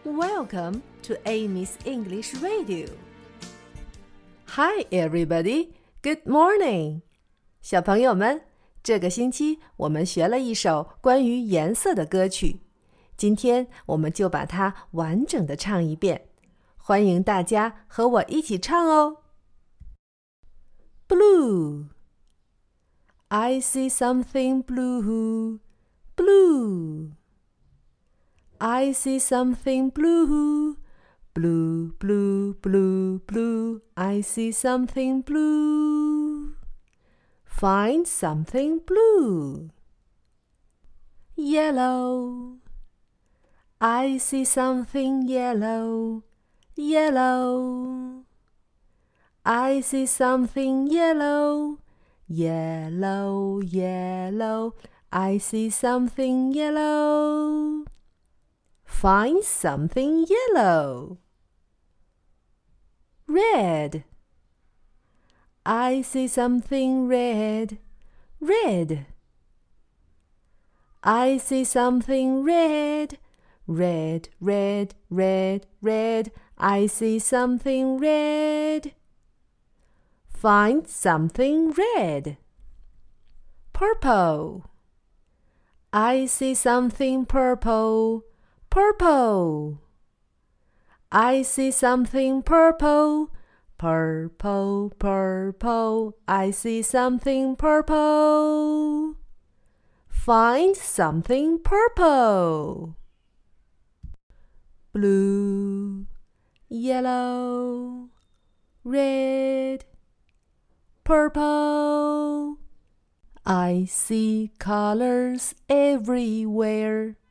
Welcome to Amy's English Radio. Hi, everybody. Good morning. 小朋友们，这个星期我们学了一首关于颜色的歌曲，今天我们就把它完整的唱一遍。欢迎大家和我一起唱哦。Blue. I see something blue, blue. I see something blue, blue, blue, blue, blue. I see something blue. Find something blue. Yellow. I see something yellow, yellow. I see something yellow, yellow, yellow. I see something yellow. Find something yellow. Red. I see something red, red. I see something red, red, red, red, red. I see something red. Find something red. Purple. I see something purple, purple. I see something purple, purple, purple. I see something purple. Find something purple. Blue, yellow, red, purple. I see colors everywhere.